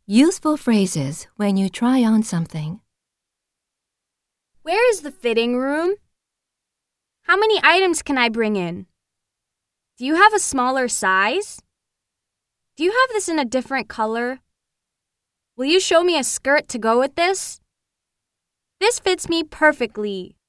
Useful phrases when you try on something. Where is the fitting room? How many items can I bring in? Do you have a smaller size? Do you have this in a different color? Will you show me a skirt to go with this? This fits me perfectly.